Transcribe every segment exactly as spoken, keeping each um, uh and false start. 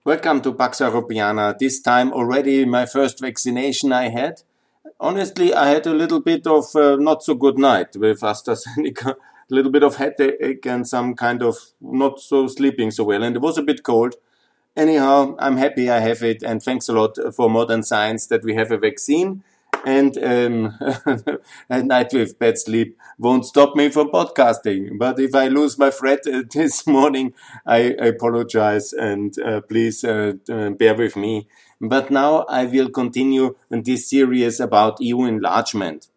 Welcome to Pax Europiana. This time already my first vaccination I had. Honestly, I had a little bit of uh, not so good night with AstraZeneca, a little bit of headache and some kind of not so sleeping so well. And it was a bit cold. Anyhow, I'm happy I have it, and thanks a lot for modern science that we have a vaccine. And um, a night with bad sleep won't stop me from podcasting. But if I lose my thread uh, this morning, I, I apologize, and uh, please uh, uh, bear with me. But now I will continue in this series about E U enlargement.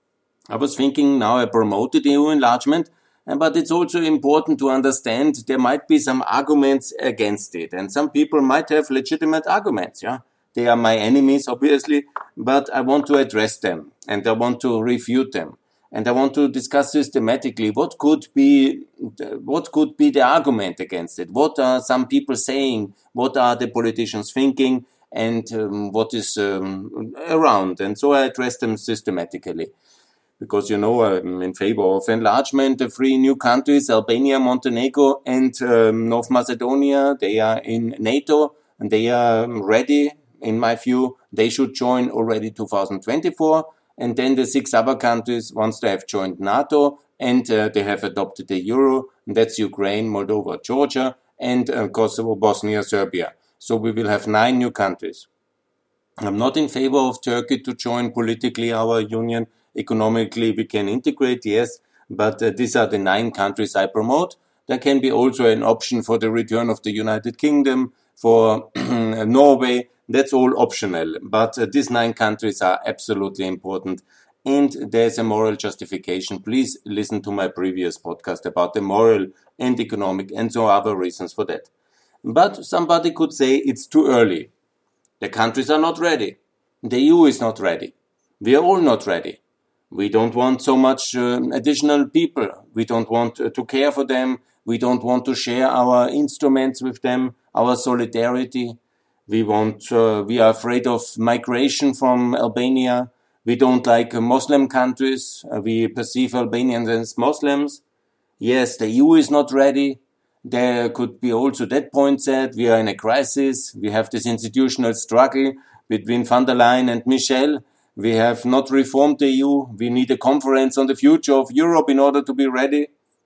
I was thinking now I promoted E U enlargement, but it's also important to understand there might be some arguments against it, and some people might have legitimate arguments, yeah. They are my enemies, obviously, but I want to address them, and I want to refute them, and I want to discuss systematically what could be what could be the argument against it. What are some people saying? What are the politicians thinking? And um, what is um, around? And so I address them systematically. Because, you know, I'm in favor of enlargement. The three new countries, Albania, Montenegro, and um, North Macedonia, they are in NATO, and they are ready. In my view, they should join already two thousand twenty-four. And then the six other countries, once they have joined NATO and uh, they have adopted the euro, and that's Ukraine, Moldova, Georgia, and uh, Kosovo, Bosnia, Serbia. So we will have nine new countries. I'm not in favor of Turkey to join politically our union. Economically, we can integrate, yes, but uh, these are the nine countries I promote. There can be also an option for the return of the United Kingdom, for Norway. That's all optional, but uh, these nine countries are absolutely important, and there's a moral justification. Please listen to my previous podcast about the moral and economic and so other reasons for that. But somebody could say it's too early. The countries are not ready. The E U is not ready. We are all not ready. We don't want so much uh, additional people. We don't want uh, to care for them. We don't want to share our instruments with them, our solidarity. We want, uh, we are afraid of migration from Albania. We don't like uh, Muslim countries. Uh, we perceive Albanians as Muslims. Yes, the E U is not ready. There could be also that point said. We are in a crisis. We have this institutional struggle between van der Leyen and Michel. We have not reformed the E U. We need a conference on the future of Europe in order to be ready.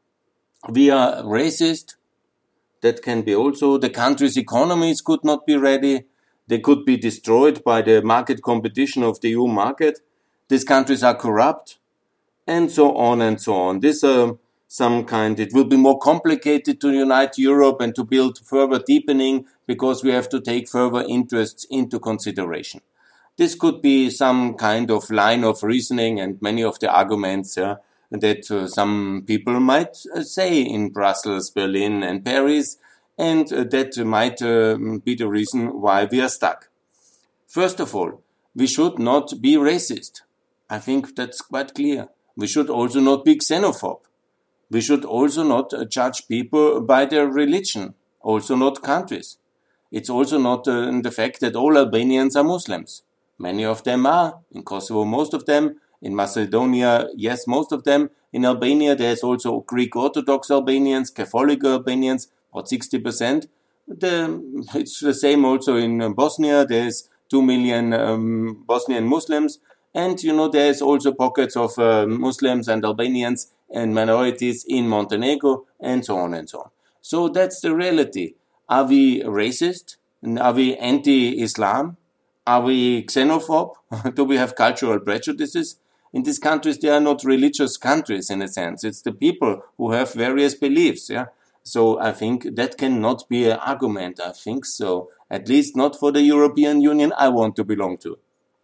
We are racist. That can be also. The country's economies could not be ready. They could be destroyed by the market competition of the E U market. These countries are corrupt, and so on and so on. This uh, some kind. It will be more complicated to unite Europe and to build further deepening because we have to take further interests into consideration. This could be some kind of line of reasoning, and many of the arguments yeah, that uh, some people might uh, say in Brussels, Berlin, and Paris, and uh, that might uh, be the reason why we are stuck. First of all, we should not be racist. I think that's quite clear. We should also not be xenophobe. We should also not uh, judge people by their religion, also not countries. It's also not uh, the fact that all Albanians are Muslims. Many of them are. In Kosovo, most of them. In Macedonia, yes, most of them. In Albania, there's also Greek Orthodox Albanians, Catholic Albanians, about sixty percent. The, it's the same also in Bosnia. There's two million um, Bosnian Muslims. And, you know, there's also pockets of uh, Muslims and Albanians and minorities in Montenegro, and so on and so on. So that's the reality. Are we racist? Are we anti-Islam? Are we xenophobe? Do we have cultural prejudices? In these countries, they are not religious countries in a sense. It's the people who have various beliefs. Yeah. So I think that cannot be an argument. I think so. At least not for the European Union I want to belong to.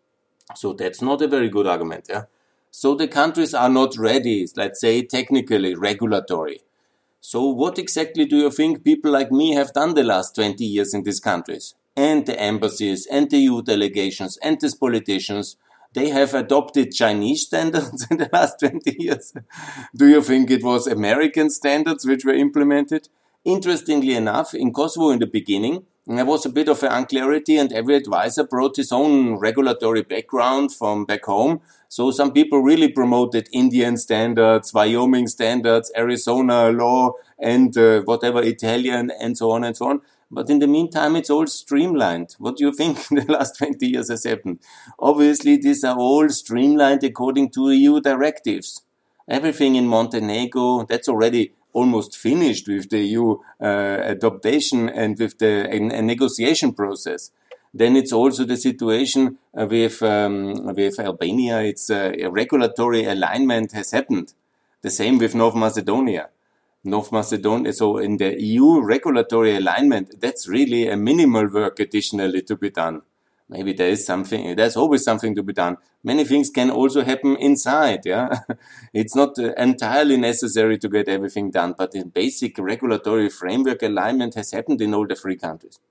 So that's not a very good argument. Yeah. So the countries are not ready, let's say technically, regulatory. So what exactly do you think people like me have done the last twenty years in these countries? And the embassies, and the E U delegations, and these politicians, they have adopted Chinese standards in the last twenty years. Do you think it was American standards which were implemented? Interestingly enough, in Kosovo in the beginning, there was a bit of an unclarity, and every advisor brought his own regulatory background from back home. So some people really promoted Indian standards, Wyoming standards, Arizona law, and uh, whatever Italian, and so on and so on. But in the meantime, it's all streamlined. What do you think in the last twenty years has happened? Obviously, these are all streamlined according to E U directives. Everything in Montenegro, that's already almost finished with the E U uh, adaptation and with the a, a negotiation process. Then it's also the situation uh, with um, with Albania. It's uh, a regulatory alignment has happened. The same with North Macedonia. North Macedonia, so in the E U regulatory alignment, that's really a minimal work additionally to be done. Maybe there is something, there's always something to be done. Many things can also happen inside, yeah. It's not uh, entirely necessary to get everything done, but the basic regulatory framework alignment has happened in all the three countries.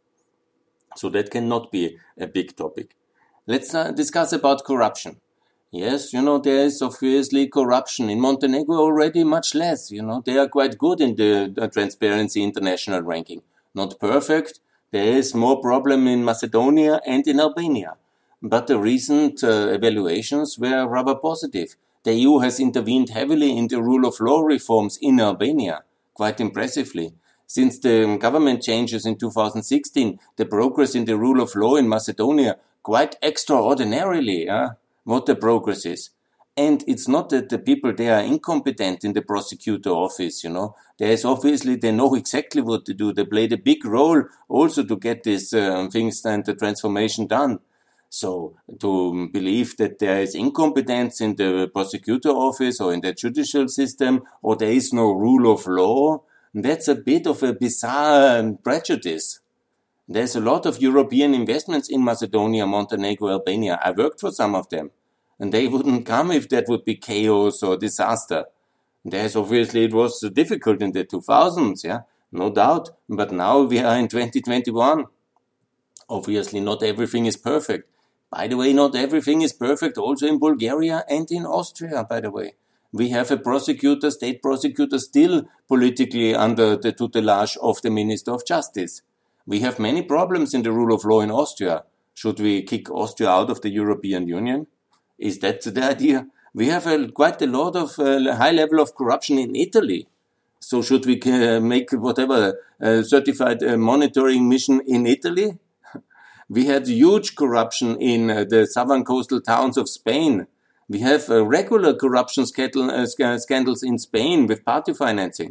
So that cannot be a big topic. Let's uh, discuss about corruption. Yes, you know, there is obviously corruption. In Montenegro already much less, you know. They are quite good in the, the Transparency International ranking. Not perfect. There is more problem in Macedonia and in Albania. But the recent uh, evaluations were rather positive. The E U has intervened heavily in the rule of law reforms in Albania, quite impressively. Since the government changes in two thousand sixteen, the progress in the rule of law in Macedonia, quite extraordinarily, yeah? What the progress is. And it's not that the people, they are incompetent in the prosecutor office, you know. There is obviously, they know exactly what to do. They played a big role also to get these um, things and the transformation done. So to believe that there is incompetence in the prosecutor office or in the judicial system, or there is no rule of law, that's a bit of a bizarre prejudice. There's a lot of European investments in Macedonia, Montenegro, Albania. I worked for some of them. And they wouldn't come if that would be chaos or disaster. There's obviously, it was difficult in the two thousands, yeah, no doubt. But now we are in twenty twenty-one. Obviously, not everything is perfect. By the way, not everything is perfect also in Bulgaria and in Austria, by the way. We have a prosecutor, state prosecutor, still politically under the tutelage of the Minister of Justice. We have many problems in the rule of law in Austria. Should we kick Austria out of the European Union? Is that the idea? We have a, quite a lot of uh, high level of corruption in Italy. So should we uh, make whatever uh, certified uh, monitoring mission in Italy? We had huge corruption in uh, the southern coastal towns of Spain. We have uh, regular corruption scandal, uh, scandals in Spain with party financing.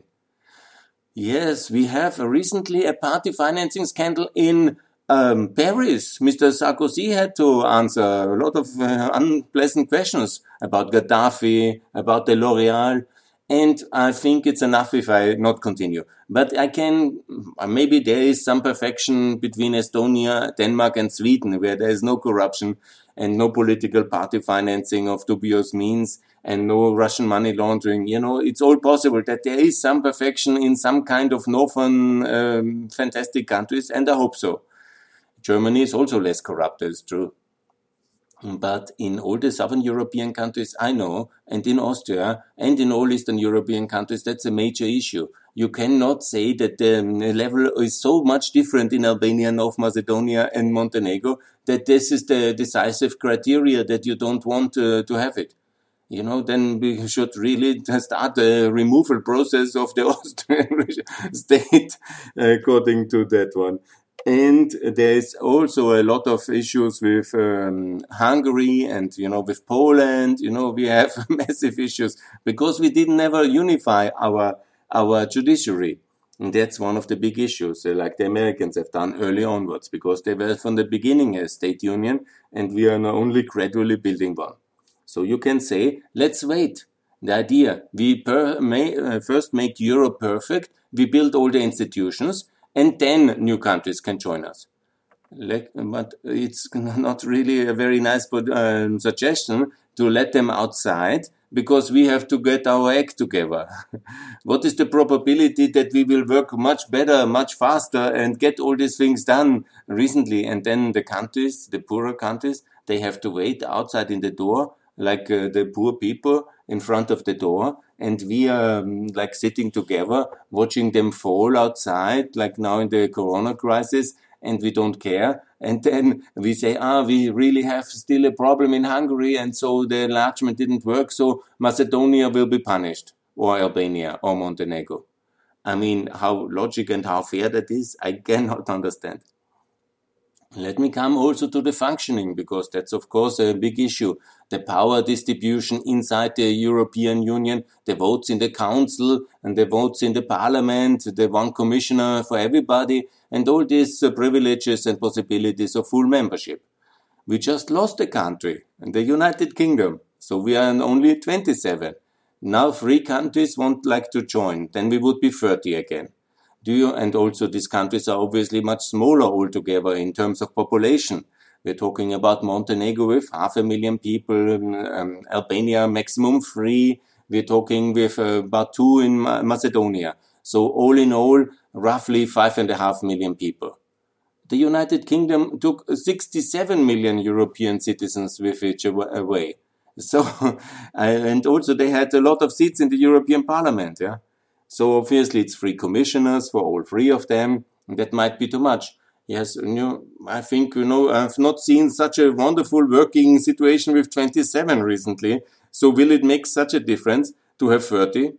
Yes, we have uh, recently a party financing scandal in Um, Paris. Mister Sarkozy had to answer a lot of uh, unpleasant questions about Gaddafi, about the L'Oreal, and I think it's enough if I not continue. But I can, maybe there is some perfection between Estonia, Denmark and Sweden, where there is no corruption and no political party financing of dubious means and no Russian money laundering. You know, it's all possible that there is some perfection in some kind of northern um, fantastic countries, and I hope so. Germany is also less corrupt, that's true. But in all the southern European countries I know, and in Austria, and in all Eastern European countries, that's a major issue. You cannot say that the level is so much different in Albania, North Macedonia, and Montenegro, that this is the decisive criteria that you don't want uh, to have it. You know, then we should really start a removal process of the Austrian state, according to that one. And there is also a lot of issues with um, Hungary and, you know, with Poland. You know, we have massive issues because we didn't ever unify our our judiciary. And that's one of the big issues, uh, like the Americans have done early onwards, because they were from the beginning a state union, and we are now only gradually building one. So you can say, let's wait. The idea, we per, may, uh, first make Europe perfect, we build all the institutions, and then new countries can join us. Like, but it's not really a very nice um, suggestion to let them outside, because we have to get our act together. What is the probability that we will work much better, much faster, and get all these things done recently? And then the countries, the poorer countries, they have to wait outside in the door, like uh, the poor people in front of the door. And we are um, like sitting together, watching them fall outside, like now in the corona crisis, and we don't care. And then we say, ah, we really have still a problem in Hungary, and so the enlargement didn't work, so Macedonia will be punished, or Albania, or Montenegro. I mean, how logic and how fair that is, I cannot understand. Let me come also to the functioning, because that's of course a big issue. The power distribution inside the European Union, the votes in the Council and the votes in the Parliament, the one commissioner for everybody, and all these uh, privileges and possibilities of full membership. We just lost a country, the United Kingdom, so we are only twenty-seven. Now three countries won't like to join, then we would be thirty again. Do you, and also these countries are obviously much smaller altogether in terms of population. We're talking about Montenegro with half a million people, um, Albania maximum three. We're talking with uh, about two in Ma- Macedonia. So all in all, roughly five and a half million people. The United Kingdom took sixty-seven million European citizens with it away. So, and also they had a lot of seats in the European Parliament, yeah. So obviously it's three commissioners for all three of them. That might be too much. Yes, you know, I think, you know, I've not seen such a wonderful working situation with twenty-seven recently. So will it make such a difference to have thirty?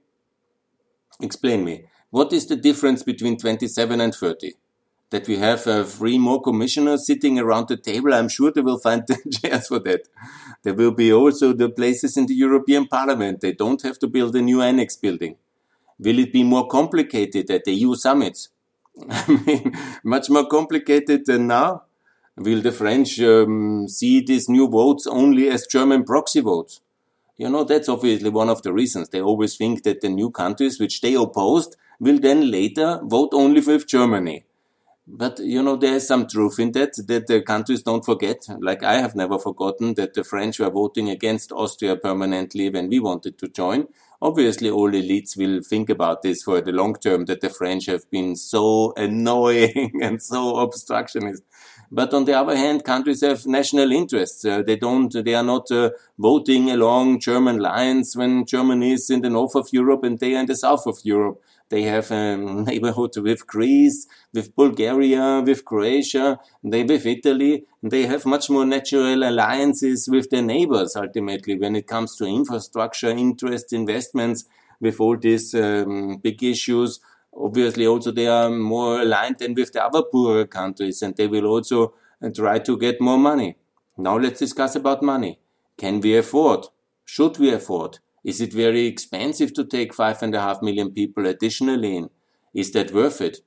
Explain me. What is the difference between twenty-seven and thirty? That we have uh, three more commissioners sitting around the table. I'm sure they will find the chairs for that. There will be also the places in the European Parliament. They don't have to build a new annex building. Will it be more complicated at the E U summits? I mean, much more complicated than now. Will the French um, see these new votes only as German proxy votes? You know, that's obviously one of the reasons. They always think that the new countries which they opposed will then later vote only with Germany. But, you know, there is some truth in that, that the countries don't forget. Like I have never forgotten that the French were voting against Austria permanently when we wanted to join. Obviously, all elites will think about this for the long term, that the French have been so annoying and so obstructionist. But on the other hand, countries have national interests. Uh, they don't, they are not uh, voting along German lines when Germany is in the north of Europe and they are in the south of Europe. They have a neighborhood with Greece, with Bulgaria, with Croatia, they with Italy. They have much more natural alliances with their neighbors, ultimately, when it comes to infrastructure, interest, investments, with all these um, big issues. Obviously, also they are more aligned than with the other poorer countries, and they will also uh, try to get more money. Now let's discuss about money. Can we afford? Should we afford? Is it very expensive to take five and a half million people additionally in? Is that worth it?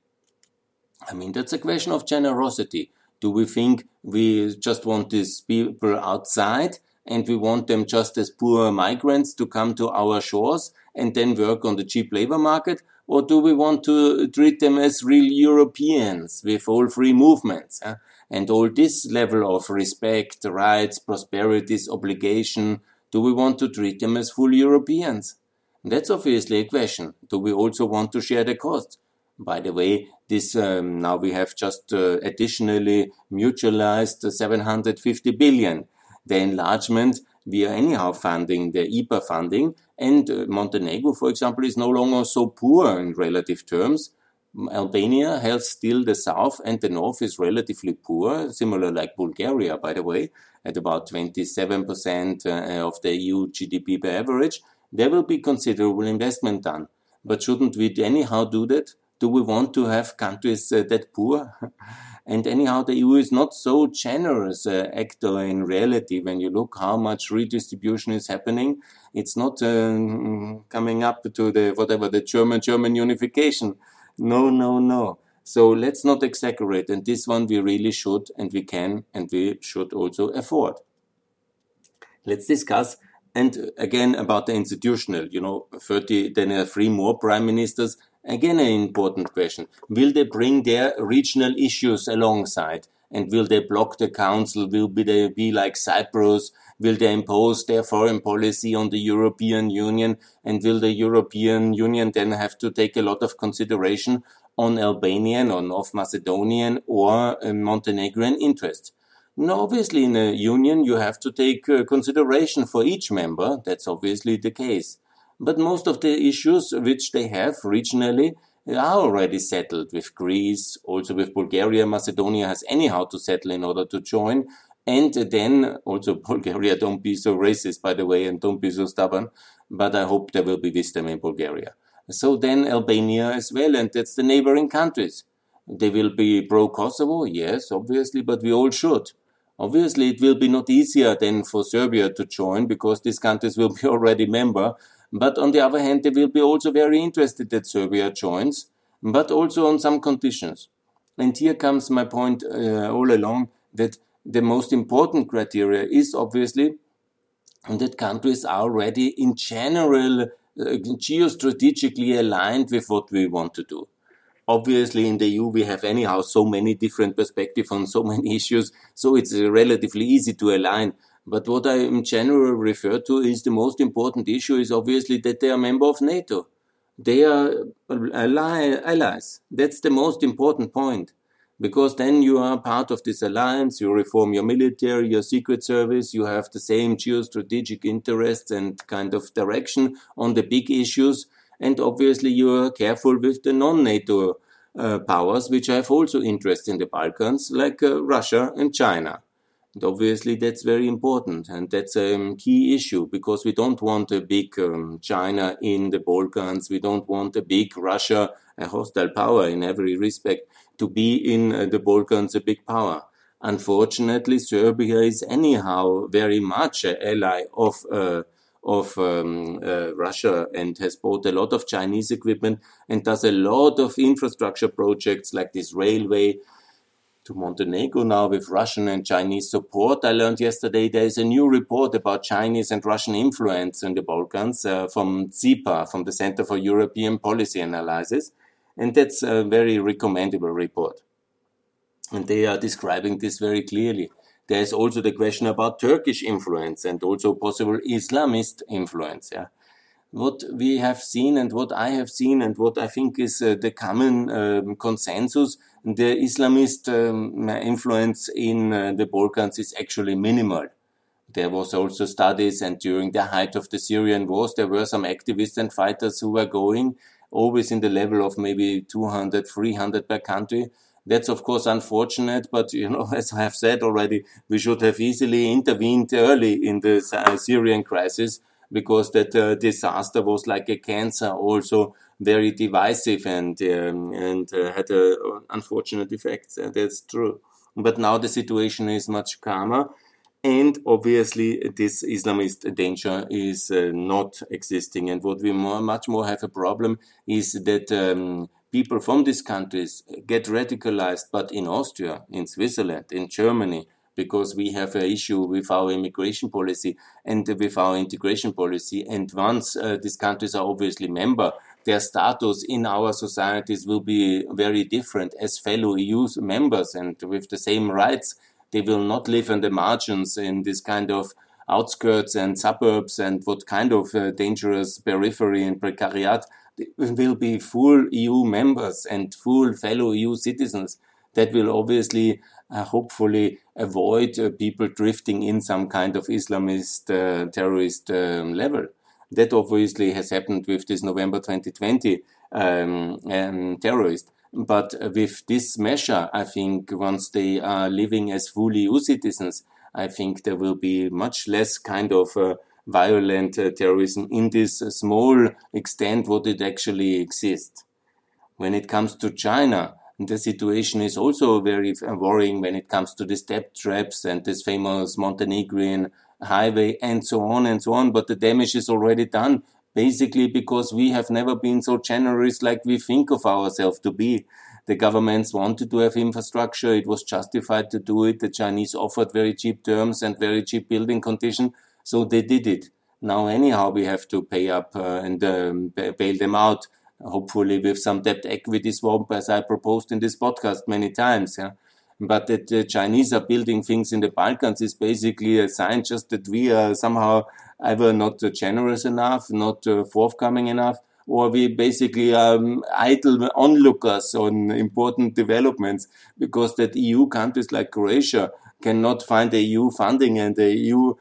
I mean, that's a question of generosity. Do we think we just want these people outside and we want them just as poor migrants to come to our shores and then work on the cheap labor market? Or do we want to treat them as real Europeans with all free movements eh? and all this level of respect, rights, prosperities, obligation? Do we want to treat them as full Europeans? That's obviously a question. Do we also want to share the cost? By the way, this um, now we have just uh, additionally mutualized seven hundred fifty billion. The enlargement, we are anyhow funding the I P A funding, and uh, Montenegro, for example, is no longer so poor in relative terms. Albania has still the south, and the north is relatively poor, similar like Bulgaria, by the way, at about twenty-seven percent uh, of the E U G D P per average. There will be considerable investment done. But shouldn't we anyhow do that? Do we want to have countries uh, that poor? And anyhow, the E U is not so generous uh, actor in reality. When you look how much redistribution is happening, it's not uh, coming up to the whatever the German German unification. No, no, no. So let's not exaggerate. And this one we really should, and we can, and we should also afford. Let's discuss. And again, about the institutional, you know, thirty, then uh, three more prime ministers. Again, an important question. Will they bring their regional issues alongside? And will they block the council? Will they be like Cyprus? Will they impose their foreign policy on the European Union? And will the European Union then have to take a lot of consideration on Albanian or North Macedonian or uh, Montenegrin interests? Now, obviously, in a union, you have to take uh, consideration for each member. That's obviously the case. But most of the issues which they have regionally are already settled with Greece, also with Bulgaria. Macedonia has anyhow to settle in order to join. And then also Bulgaria, don't be so racist, by the way, and don't be so stubborn. But I hope there will be wisdom in Bulgaria. So then Albania as well, and that's the neighboring countries. They will be pro-Kosovo, yes, obviously, but we all should. Obviously, it will be not easier than for Serbia to join because these countries will be already member. But on the other hand, they will be also very interested that Serbia joins, but also on some conditions. And here comes my point uh, all along that the most important criteria is obviously that countries are already in general uh, geostrategically aligned with what we want to do. Obviously, in the E U, we have anyhow so many different perspectives on so many issues, so it's relatively easy to align. But what I in general refer to is the most important issue is obviously that they are a member of NATO. They are ally, allies. That's the most important point. Because then you are part of this alliance, you reform your military, your secret service, you have the same geostrategic interests and kind of direction on the big issues. And obviously you are careful with the non-NATO uh, powers, which have also interest in the Balkans, like uh, Russia and China. And obviously that's very important, and that's a um, key issue, because we don't want a big um, China in the Balkans, we don't want a big Russia, a hostile power in every respect, to be in uh, the Balkans a big power. Unfortunately, Serbia is anyhow very much an ally of uh, of um, uh, Russia and has bought a lot of Chinese equipment and does a lot of infrastructure projects like this railway to Montenegro now with Russian and Chinese support. I learned yesterday there is a new report about Chinese and Russian influence in the Balkans uh, from C I P A, from the Center for European Policy Analysis. And that's a very recommendable report. And they are describing this very clearly. There is also the question about Turkish influence and also possible Islamist influence. Yeah. What we have seen and what I have seen and what I think is uh, the common um, consensus, the Islamist um, influence in uh, the Balkans is actually minimal. There was also studies, and during the height of the Syrian wars, there were some activists and fighters who were going, always in the level of maybe two hundred, three hundred per country. That's of course unfortunate, but you know, as I have said already, we should have easily intervened early in the Syrian crisis, because that uh, disaster was like a cancer, also very divisive and um, and uh, had uh, unfortunate effects. Uh, that's true. But now the situation is much calmer. And obviously, this Islamist danger is uh, not existing. And what we more, much more have a problem is that um, people from these countries get radicalized, but in Austria, in Switzerland, in Germany, because we have an issue with our immigration policy and with our integration policy. And once uh, these countries are obviously member, their status in our societies will be very different as fellow E U members and with the same rights. They will not live on the margins in this kind of outskirts and suburbs and what kind of uh, dangerous periphery and precariat. They will be full E U members and full fellow E U citizens that will obviously, uh, hopefully, avoid uh, people drifting in some kind of Islamist uh, terrorist um, level. That obviously has happened with this November twenty twenty um, um, terrorist. But with this measure, I think once they are living as full E U citizens, I think there will be much less kind of uh, violent uh, terrorism in this uh, small extent what it actually exists. When it comes to China, the situation is also very worrying when it comes to the step traps and this famous Montenegrin highway and so on and so on. But the damage is already done. Basically, because we have never been so generous like we think of ourselves to be. The governments wanted to have infrastructure. It was justified to do it. The Chinese offered very cheap terms and very cheap building conditions. So they did it. Now, anyhow, we have to pay up uh, and um, bail them out, hopefully with some debt equity swap, as I proposed in this podcast many times. Yeah. But that the Chinese are building things in the Balkans is basically a sign just that we are somehow either not generous enough, not uh, forthcoming enough, or we basically um, idle onlookers on important developments, because that E U countries like Croatia cannot find the E U funding and the E U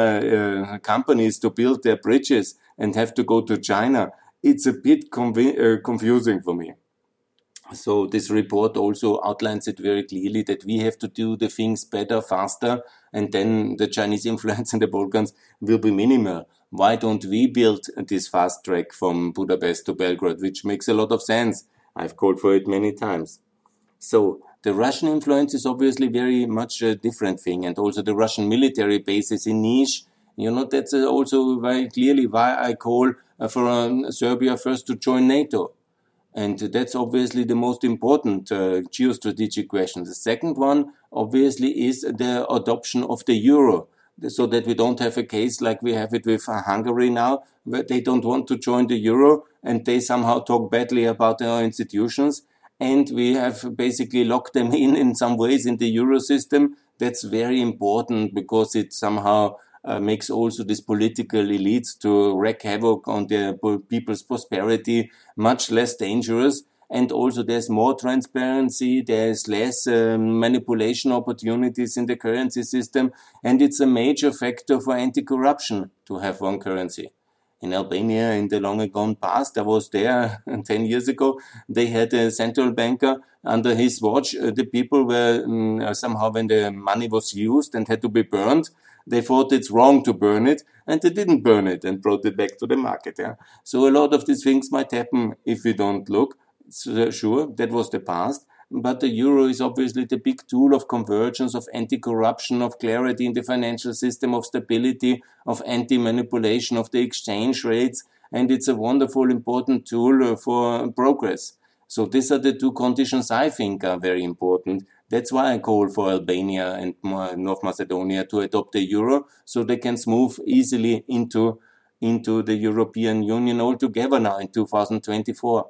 uh, companies to build their bridges and have to go to China. It's a bit conv- uh, confusing for me. So this report also outlines it very clearly that we have to do the things better, faster, and then the Chinese influence in the Balkans will be minimal. why don't we build this fast track from Budapest to Belgrade, which makes a lot of sense. I've called for it many times. So the Russian influence is obviously very much a different thing, and also the Russian military bases in Niš. You know, that's also very clearly why I call for um, Serbia first to join NATO. And that's obviously the most important uh, geostrategic question. The second one, obviously, is the adoption of the euro, so that we don't have a case like we have it with uh, Hungary now, where they don't want to join the euro and they somehow talk badly about our institutions. And we have basically locked them in in some ways in the euro system. That's very important because it somehow uh, makes also these political elites to wreak havoc on their people's prosperity much less dangerous. And also there's more transparency, there's less um, manipulation opportunities in the currency system. And it's a major factor for anti-corruption to have one currency. In Albania, in the long gone past, I was there ten years ago, they had a central banker under his watch. Uh, the people were um, somehow, when the money was used and had to be burned, they thought it's wrong to burn it, and they didn't burn it and brought it back to the market. Yeah? So a lot of these things might happen if we don't look. So, sure, that was the past. But the euro is obviously the big tool of convergence, of anti-corruption, of clarity in the financial system, of stability, of anti-manipulation of the exchange rates. And it's a wonderful, important tool for progress. So these are the two conditions I think are very important. That's why I call for Albania and North Macedonia to adopt the euro, so they can move easily into, into the European Union altogether now in two thousand twenty-four.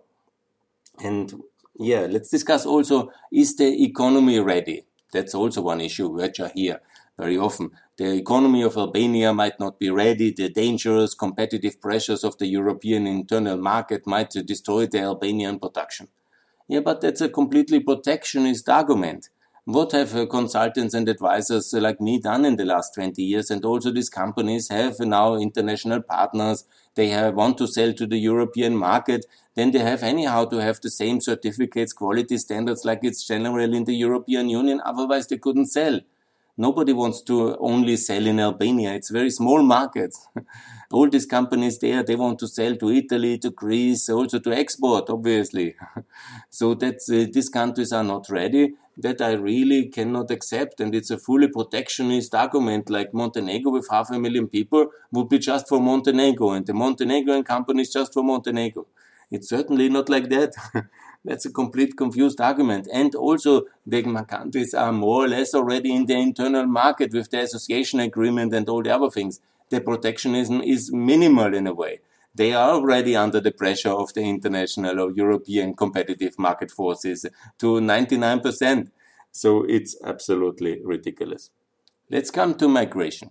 And yeah, let's discuss also, is the economy ready? That's also one issue which I hear very often. The economy of Albania might not be ready. The dangerous competitive pressures of the European internal market might destroy the Albanian production. Yeah, but that's a completely protectionist argument. What have uh, consultants and advisors uh, like me done in the last twenty years? And also these companies have now international partners. They have, want to sell to the European market. Then they have anyhow to have the same certificates, quality standards like it's general in the European Union. Otherwise they couldn't sell. Nobody wants to only sell in Albania. It's very small markets. All these companies there, they want to sell to Italy, to Greece, also to export, obviously. So that uh, these countries are not ready. That I really cannot accept. And it's a fully protectionist argument, like Montenegro with half a million people would be just for Montenegro, and the Montenegrin companies just for Montenegro. It's certainly not like that. That's a complete confused argument. And also the countries are more or less already in the internal market with the association agreement and all the other things. The protectionism is minimal in a way. They are already under the pressure of the international or European competitive market forces to ninety-nine percent. So it's absolutely ridiculous. Let's come to migration.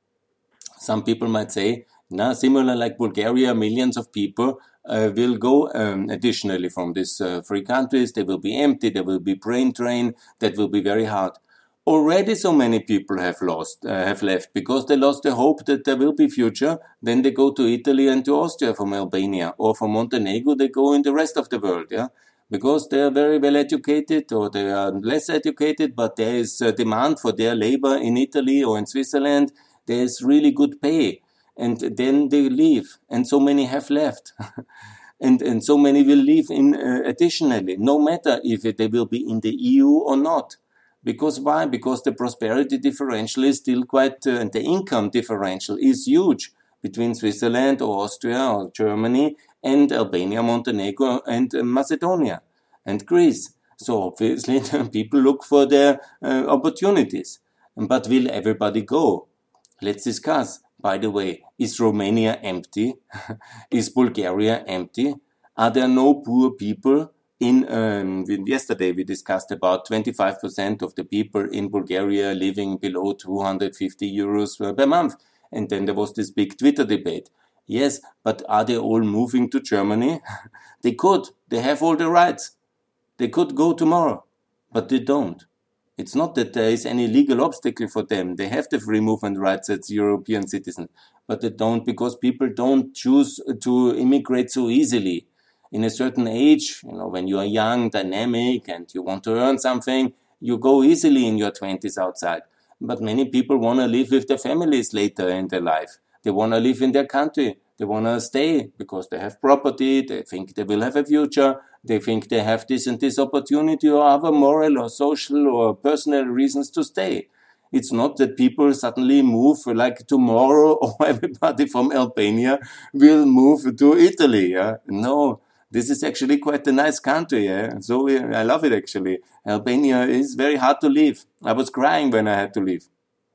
Some people might say, now, similar like Bulgaria, millions of people uh, will go um, additionally from these uh, three countries. They will be empty, they will be brain drained, that will be very hard. Already so many people have lost, uh, have left because they lost the hope that there will be future. Then they go to Italy and to Austria from Albania, or from Montenegro, they go in the rest of the world, yeah, because they are very well educated or they are less educated, but there is a demand for their labor in Italy or in Switzerland. There is really good pay. And then they leave, and so many have left. and and so many will leave in uh, additionally, no matter if it, they will be in the E U or not. Because why? Because the prosperity differential is still quite, uh, and the income differential is huge between Switzerland or Austria or Germany and Albania, Montenegro and uh, Macedonia and Greece. So obviously people look for their uh, opportunities. But will everybody go? Let's discuss. By the way, is Romania empty? Is Bulgaria empty? Are there no poor people? In um, yesterday we discussed about twenty-five percent of the people in Bulgaria living below two hundred fifty euros per month. And then there was this big Twitter debate. Yes, but are they all moving to Germany? They could. They have all the rights. They could go tomorrow, but they don't. It's not that there is any legal obstacle for them. They have the free movement rights as European citizens, but they don't because people don't choose to immigrate so easily. In a certain age, you know, when you are young, dynamic, and you want to earn something, you go easily in your twenties outside. But many people want to live with their families later in their life. They want to live in their country. They want to stay because they have property. They think they will have a future. They think they have this and this opportunity or other moral or social or personal reasons to stay. It's not that people suddenly move like tomorrow or everybody from Albania will move to Italy. Yeah? No, this is actually quite a nice country. Yeah? So I love it actually. Albania is very hard to leave. I was crying when I had to leave.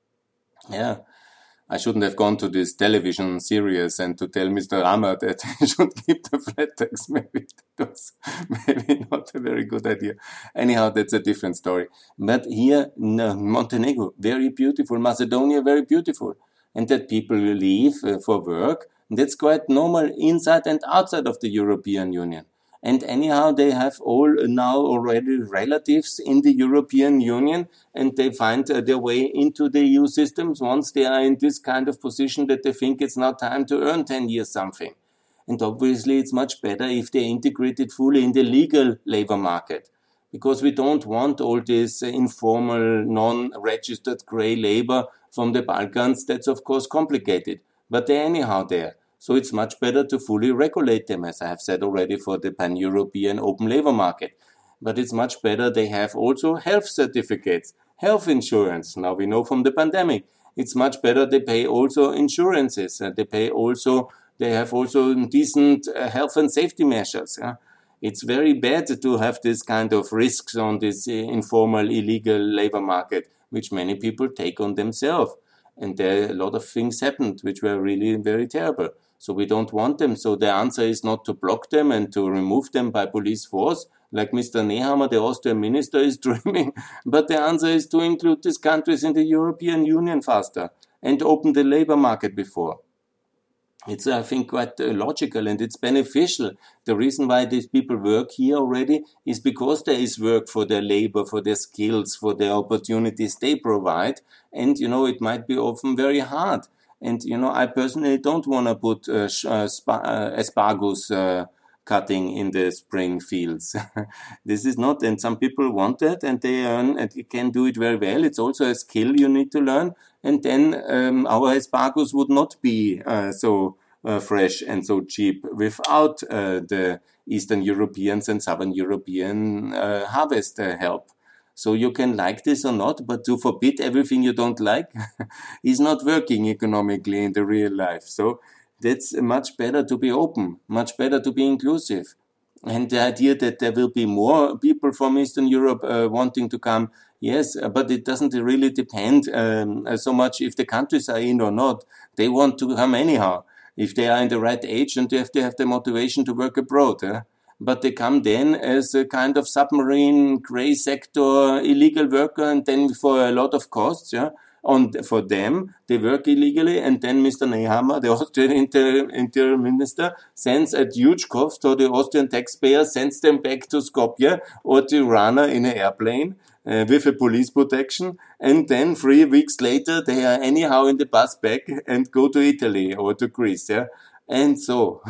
Yeah. I shouldn't have gone to this television series and to tell Mister Rama that he should keep the flat tax. Maybe that was maybe not a very good idea. Anyhow, that's a different story. But here, no, Montenegro, very beautiful. Macedonia, very beautiful. And that people leave uh, for work, that's quite normal inside and outside of the European Union. And anyhow, they have all now already relatives in the European Union, and they find uh, their way into the E U systems once they are in this kind of position that they think it's now time to earn ten years something. And obviously, it's much better if they integrate it fully in the legal labor market, because we don't want all this uh, informal, non-registered grey labor from the Balkans. That's, of course, complicated, but they're anyhow there. So it's much better to fully regulate them, as I have said already, for the pan-European open labor market. But it's much better they have also health certificates, health insurance. Now we know from the pandemic, it's much better they pay also insurances. And they pay also, they have also decent uh, health and safety measures. Yeah? It's very bad to have this kind of risks on this uh, informal, illegal labor market, which many people take on themselves. And there a lot of things happened which were really very terrible. So we don't want them. So the answer is not to block them and to remove them by police force, like Mister Nehammer, the Austrian minister, is dreaming. But the answer is to include these countries in the European Union faster and open the labor market before. It's, I think, quite uh, logical and it's beneficial. The reason why these people work here already is because there is work for their labor, for their skills, for their opportunities they provide. And, you know, it might be often very hard. And, you know, I personally don't want to put uh, uh, spa- uh, asparagus uh, cutting in the spring fields. This is not, and some people want that and they earn and can do it very well. It's also a skill you need to learn. And then um, our asparagus would not be uh, so uh, fresh and so cheap without uh, the Eastern Europeans and Southern European uh, harvest uh, help. So you can like this or not, but to forbid everything you don't like is not working economically in the real life. So that's much better to be open, much better to be inclusive. And the idea that there will be more people from Eastern Europe uh, wanting to come, yes, but it doesn't really depend um, so much if the countries are in or not. They want to come anyhow, if they are in the right age and if they have the motivation to work abroad. Eh? But they come then as a kind of submarine, grey sector, illegal worker, and then for a lot of costs, yeah. On for them, they work illegally, and then Mister Nehammer, the Austrian inter, interior minister, sends at huge cost to the Austrian taxpayer, sends them back to Skopje or Tirana in an airplane uh, with a police protection, and then three weeks later they are anyhow in the bus back and go to Italy or to Greece, yeah, and so.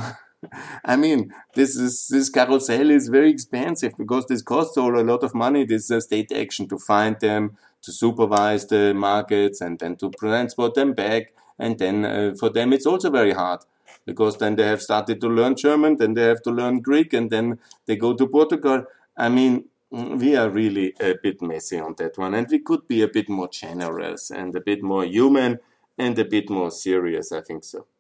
I mean, this is this carousel is very expensive because this costs all a lot of money. This uh, state action to find them, to supervise the markets, and then to transport them back. And then uh, for them, it's also very hard because then they have started to learn German, then they have to learn Greek, and then they go to Portugal. I mean, we are really a bit messy on that one, and we could be a bit more generous and a bit more human and a bit more serious. I think so.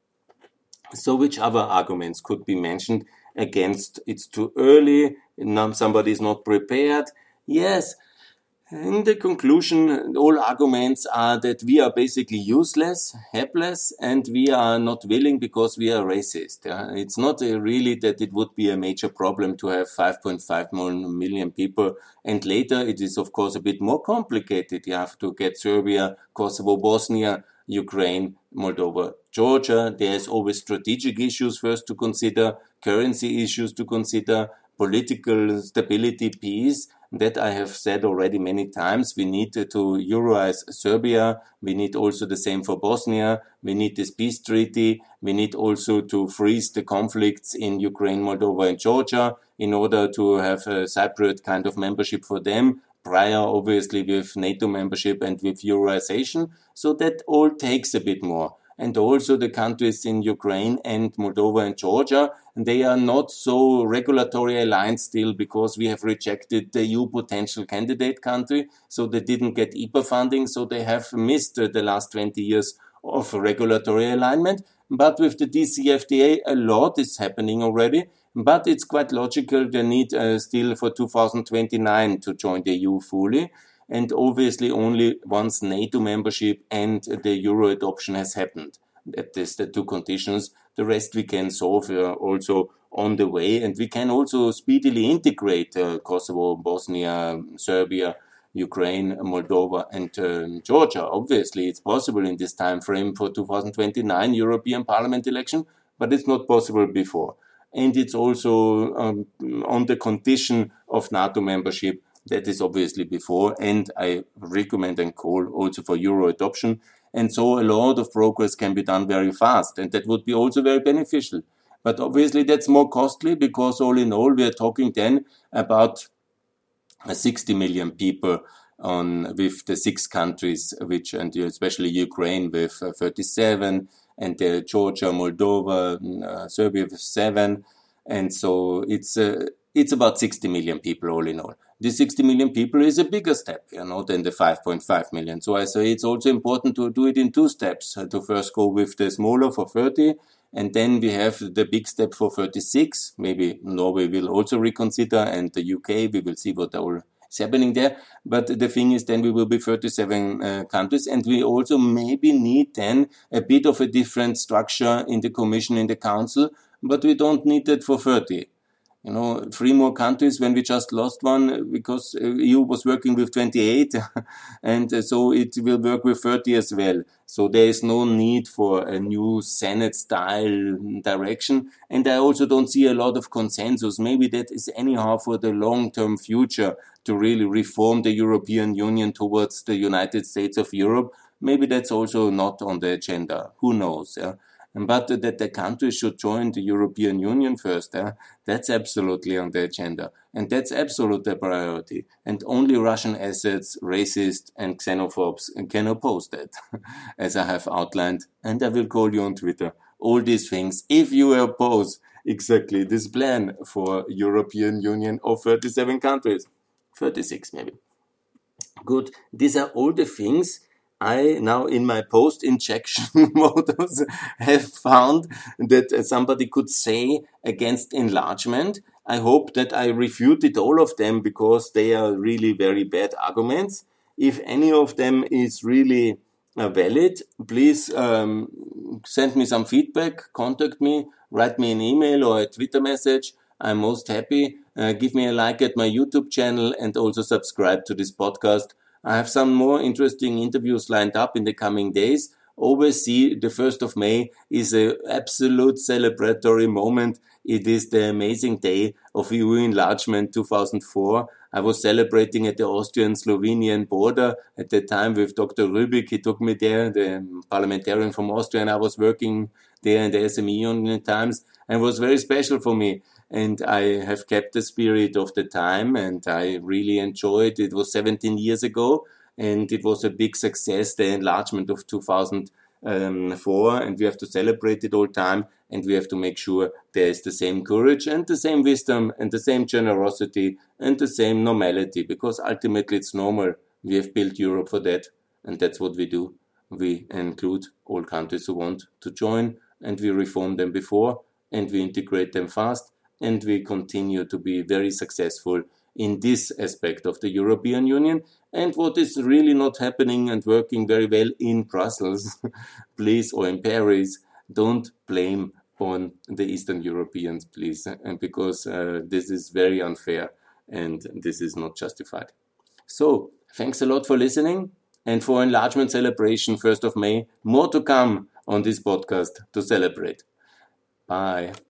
So which other arguments could be mentioned against it's too early, somebody is not prepared? Yes, in the conclusion, all arguments are that we are basically useless, helpless, and we are not willing because we are racist. Yeah? It's not uh, really that it would be a major problem to have five point five million people, and later it is of course a bit more complicated. You have to get Serbia, Kosovo, Bosnia, Ukraine, Moldova, Georgia. There's always strategic issues first to consider, currency issues to consider, political stability, peace. That I have said already many times. We need to Euroize Serbia. We need also the same for Bosnia. We need this peace treaty. We need also to freeze the conflicts in Ukraine, Moldova, and Georgia in order to have a Cypriot kind of membership for them. Prior, obviously, with NATO membership and with Euroization. So that all takes a bit more. and also the countries in Ukraine and Moldova and Georgia. And they are not so regulatory aligned still because we have rejected the E U potential candidate country, so they didn't get I P A funding, so they have missed the last twenty years of regulatory alignment. But with the D C F T A, a lot is happening already. But it's quite logical they need uh, still for two thousand twenty-nine to join the E U fully. And obviously only once NATO membership and the Euro adoption has happened. That is the two conditions. The rest we can solve uh, also on the way. And we can also speedily integrate uh, Kosovo, Bosnia, Serbia, Ukraine, Moldova, and uh, Georgia. Obviously, it's possible in this time frame for two thousand twenty-nine European Parliament election, but it's not possible before. And it's also um, on the condition of NATO membership. That is obviously before. And I recommend and call also for Euro adoption. And so a lot of progress can be done very fast. And that would be also very beneficial. But obviously, that's more costly because all in all, we are talking then about sixty million people on with the six countries, which and especially Ukraine with uh, thirty-seven, and uh, Georgia, Moldova, uh, Serbia with seven, and so it's uh, it's about sixty million people all in all. This sixty million people is a bigger step, you know, than the five point five million. So I say it's also important to do it in two steps. Uh, to first go with the smaller for thirty. And then we have the big step for thirty-six. Maybe Norway will also reconsider, and the U K, we will see what all is happening there. But the thing is, then we will be thirty-seven uh, countries, and we also maybe need then a bit of a different structure in the Commission, in the Council, but we don't need that for thirty. You know, three more countries when we just lost one because E U was working with twenty-eight and so it will work with thirty as well. So there is no need for a new Senate style direction. And I also don't see a lot of consensus. Maybe that is anyhow for the long-term future to really reform the European Union towards the United States of Europe. Maybe that's also not on the agenda. Who knows? Yeah? But that the countries should join the European Union first, eh? That's absolutely on the agenda. And that's absolutely a priority. And only Russian assets, racists and xenophobes can oppose that, as I have outlined. And I will call you on Twitter. All these things, if you oppose exactly this plan for European Union of thirty-seven countries, thirty-six maybe. Good. These are all the things I now in my post-injection modus have found that somebody could say against enlargement. I hope that I refuted all of them because they are really very bad arguments. If any of them is really uh, valid, please um, send me some feedback, contact me, write me an email or a Twitter message. I'm most happy. Uh, give me a like at my YouTube channel and also subscribe to this podcast. I have some more interesting interviews lined up in the coming days. Always see the first of May is an absolute celebratory moment. It is the amazing day of E U enlargement two thousand four. I was celebrating at the Austrian-Slovenian border at the time with Doctor Rübig. He took me there, the parliamentarian from Austria, and I was working there in the S M E Union times, and it was very special for me. And I have kept the spirit of the time, and I really enjoyed it. It was seventeen years ago, and it was a big success, the enlargement of two thousand four, and we have to celebrate it all the time, and we have to make sure there is the same courage and the same wisdom and the same generosity and the same normality, because ultimately it's normal. We have built Europe for that, and that's what we do. We include all countries who want to join, and we reform them before, and we integrate them fast, and we continue to be very successful in this aspect of the European Union. And what is really not happening and working very well in Brussels, please, or in Paris, don't blame on the Eastern Europeans, please, and because uh, this is very unfair and this is not justified. So, thanks a lot for listening, and for enlargement celebration, first of May, more to come on this podcast to celebrate. Bye.